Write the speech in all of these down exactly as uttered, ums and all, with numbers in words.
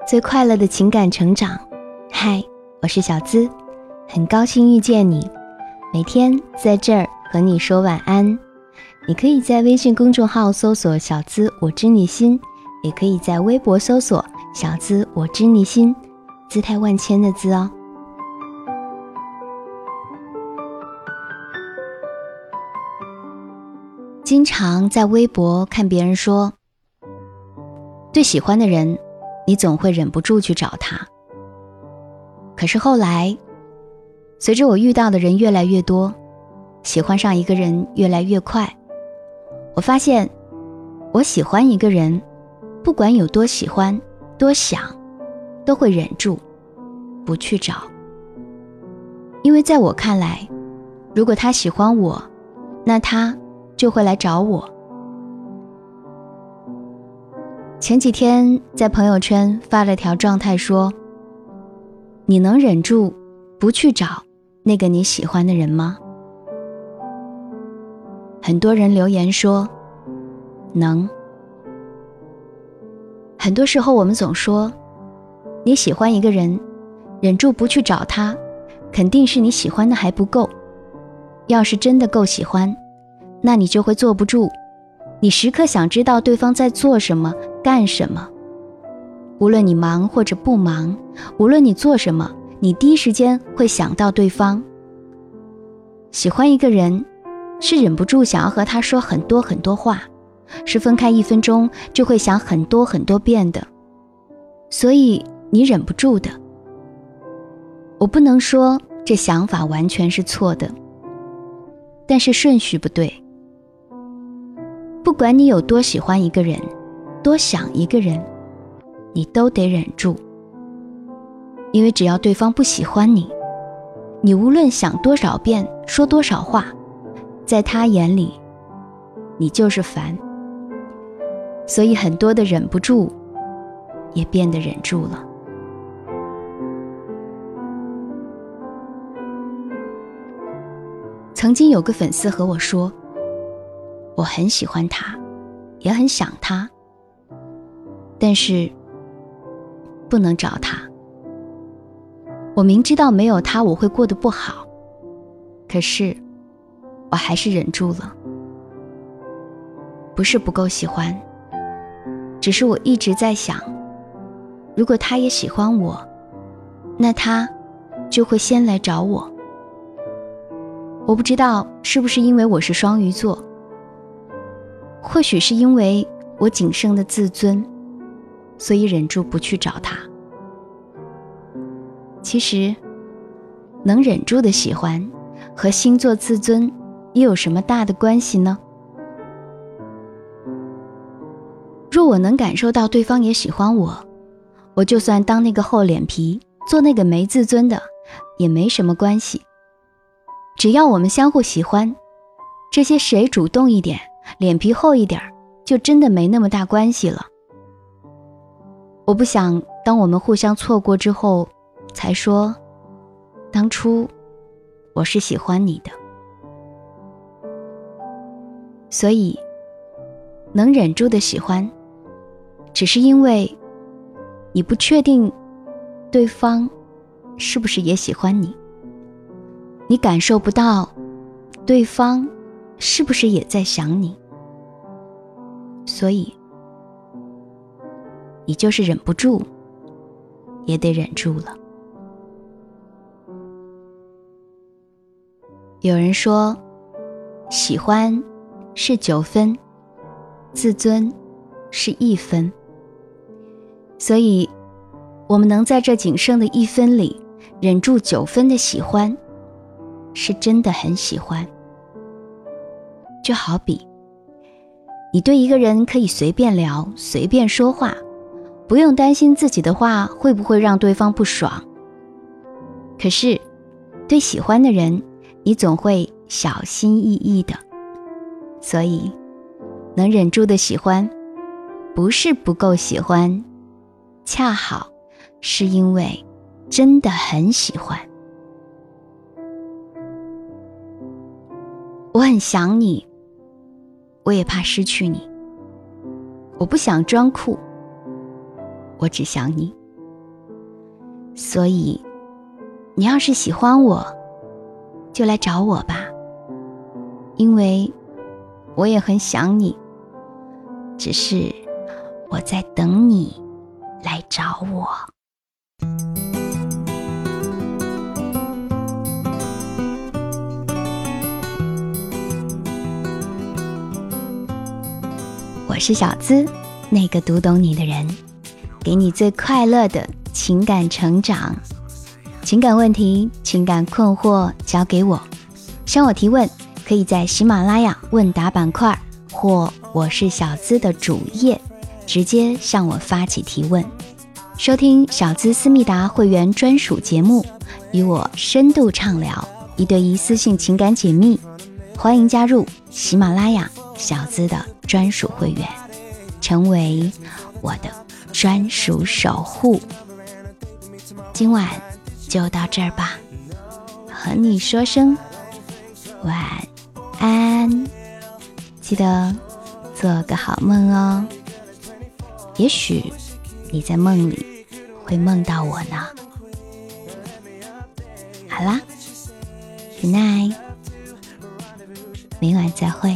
最快乐的情感成长。嗨，我是小资，很高兴遇见你，每天在这儿和你说晚安。你可以在微信公众号搜索小资我知你心，也可以在微博搜索小资我知你心，姿态万千的资哦。经常在微博看别人说，对喜欢的人你总会忍不住去找他。可是后来，随着我遇到的人越来越多，喜欢上一个人越来越快，我发现我喜欢一个人，不管有多喜欢多想，都会忍住不去找。因为在我看来，如果他喜欢我，那他就会来找我。前几天在朋友圈发了条状态说，你能忍住不去找那个你喜欢的人吗？很多人留言说能。很多时候我们总说，你喜欢一个人，忍住不去找他，肯定是你喜欢的还不够。要是真的够喜欢，那你就会坐不住，你时刻想知道对方在做什么干什么。无论你忙或者不忙，无论你做什么，你第一时间会想到对方。喜欢一个人，是忍不住想要和他说很多很多话，是分开一分钟就会想很多很多遍的，所以你忍不住的。我不能说这想法完全是错的，但是顺序不对。不管你有多喜欢一个人，多想一个人，你都得忍住。因为只要对方不喜欢你，你无论想多少遍，说多少话，在他眼里你就是烦。所以很多的忍不住也变得忍住了。曾经有个粉丝和我说，我很喜欢他，也很想他，但是不能找他。我明知道没有他我会过得不好，可是我还是忍住了。不是不够喜欢，只是我一直在想，如果他也喜欢我，那他就会先来找我。我不知道是不是因为我是双鱼座，或许是因为我仅剩的自尊，所以忍住不去找他。其实能忍住的喜欢和星座自尊又有什么大的关系呢？若我能感受到对方也喜欢我，我就算当那个厚脸皮，做那个没自尊的，也没什么关系。只要我们相互喜欢，这些谁主动一点，脸皮厚一点，就真的没那么大关系了。我不想当我们互相错过之后才说，当初我是喜欢你的。所以能忍住的喜欢，只是因为你不确定对方是不是也喜欢你，你感受不到对方是不是也在想你，所以你就是忍不住也得忍住了。有人说，喜欢是九分，自尊是一分。所以我们能在这仅剩的一分里忍住九分的喜欢，是真的很喜欢。就好比你对一个人可以随便聊，随便说话，不用担心自己的话会不会让对方不爽。可是对喜欢的人，你总会小心翼翼的。所以能忍住的喜欢，不是不够喜欢，恰好是因为真的很喜欢。我很想你，我也怕失去你。我不想装酷，我只想你。 所以你要是喜欢我，就来找我吧，因为我也很想你，只是我在等你来找我。我是小资，那个读懂你的人，给你最快乐的情感成长。情感问题、情感困惑交给我，向我提问可以在喜马拉雅问答板块或我是小资的主页直接向我发起提问。收听小资思密达会员专属节目，与我深度畅聊，一对一私信情感解密，欢迎加入喜马拉雅小资的专属会员，成为我的专属守护。今晚就到这儿吧，和你说声晚安，记得做个好梦哦。也许你在梦里会梦到我呢。好啦 Good night， 明晚再会。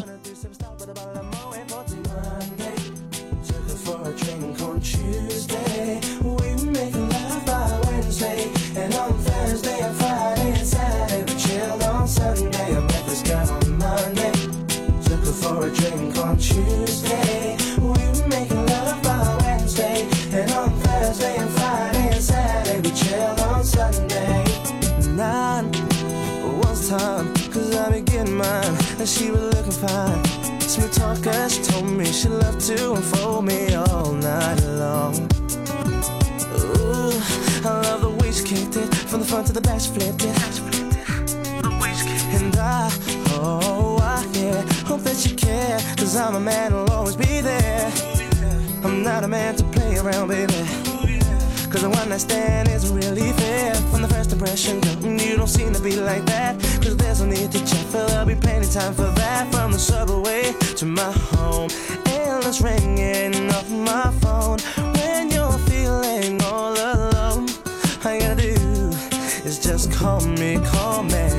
For a drink on Tuesday, we were making love by Wednesday, and on Thursday and Friday and Saturday we chilled on Sunday. Nine was time, cause I be getting mine, and she was looking fine. Smooth talker, she told me she loved to unfold me all night long. Ooh, I love the way she kicked it, from the front to the back she flipped it. And I, oh I, yeah, hope that you care, cause I'm a man who'll always be there. I'm not a man to play around, baby, cause a one night stand isn't really fair. From the first impression, girl, you don't seem to be like that, cause there's no need to check, but there'll be plenty time for that. From the subway to my home, endless ringing off my phone. When you're feeling all alone, all you gotta do is just call me, call me.